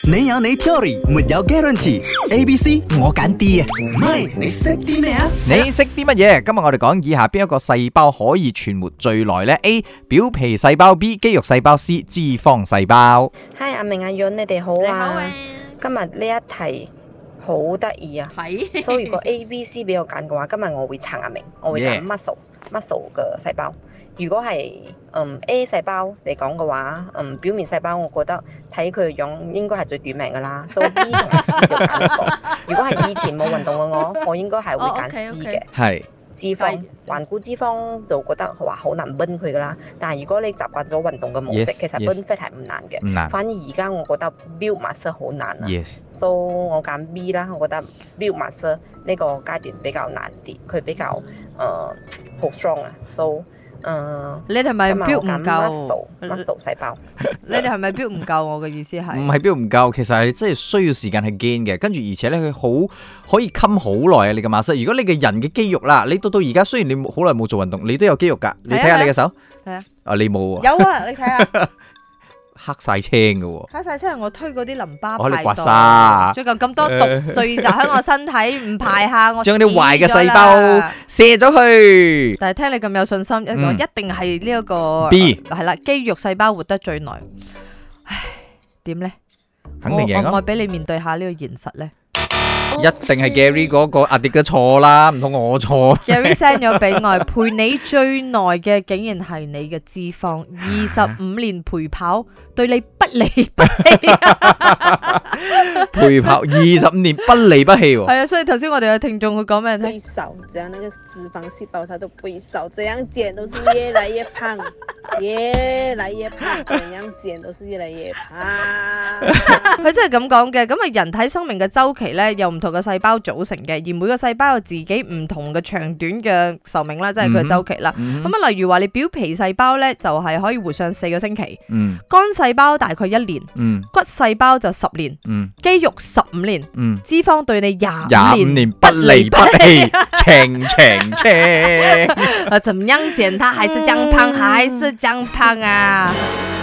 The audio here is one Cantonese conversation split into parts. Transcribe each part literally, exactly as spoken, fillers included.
你有你 theory， 沒有 guarantee。A、B、C 我揀 D 啊，唔係你識啲咩啊？ 你識啲乜嘢？今日我哋講以下邊一個細胞可以存活最耐呢？ A. 表皮細胞 B. 肌肉細胞 C. 脂肪細胞。 Hi 阿明阿潤，你哋好你好啊！ 啊今日呢一題好得意啊！ 係所以如果 A、B、C 俾我揀嘅話，今日我會撐阿明，我會揀 muscle muscle 嘅細胞。如果係嗯 A 細胞嚟講嘅話，嗯表面細胞我覺得睇佢嘅樣應該係最短命噶啦，所以 B 同埋 C 就揀一個。如果係以前冇運動嘅我，我應該係會揀 C 嘅。 係脂肪，頑固脂肪就覺得話好難 burn 佢噶啦。但係如果你習慣咗運動嘅模式， Yes, 其實 yes. burn fat 係唔難嘅。 唔難。 反而而家我覺得 build muscle 好難啊。 Yes。 So 我揀 B 啦，我覺得 build muscle 呢個階段比較難啲，佢比較誒好 strong 啊。So 誒， 你哋係咪標唔夠 muscle muscle 細胞？ 你哋係咪標唔夠？我嘅意思係唔係標唔夠，其實係真係需要時間去 gain 嘅，跟住而且咧佢好可以襟好耐啊！你嘅馬塞，如果你嘅人嘅肌肉啦，你到到而家雖然你好耐冇做運動，你都有肌肉㗎，你睇下你嘅手， 係啊， 啊你冇啊， 有啊，你睇下黑晒青嘅喎， 黑晒青係我推嗰啲淋巴我你刮排毒， 痧， 最近咁多毒聚集喺我身體，唔排下我將啲壞嘅細死咗胞啦射咗去。 但係聽你咁有信心，一個嗯一定係呢一個 B 係啦，肌肉細胞活得最耐。唉，點咧？ 肯定贏咯我我我俾你面對下呢個現實咧。 一定係 Gary 嗰個阿迪嘅錯啦，唔通我錯 ？Gary send 咗俾我，陪你最耐嘅竟然係你嘅脂肪，二十五年陪跑對你不離不棄。 陪跑二十五年不離不棄喎。 係啊，所以頭先我哋嘅聽眾佢講咩聽？ 會少，只要那個脂肪細胞它都不會少，這樣減都是越來越胖，越來越胖，怎樣減都是越來越胖。 佢真係咁講嘅，咁啊人體生命嘅周期咧，由唔同嘅細胞組成嘅，而每個細胞有自己唔同嘅長短嘅壽命啦，即係佢嘅周期啦。咁啊、 嗯哼， 例如話你表皮細胞咧，就係可以活上四個星期， 嗯肝細胞大概一年， 嗯骨細胞就十年， 嗯肌肉十五年， 嗯， 脂肪對你廿廿五五年年不離不棄，情情情。 啊，怎麼樣減它還是降胖，還是降胖啊？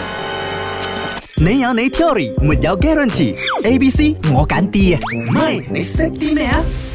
你有你 theory，沒有 guarantee。A、B、C 我揀 D 啊，唔係你識啲咩啊？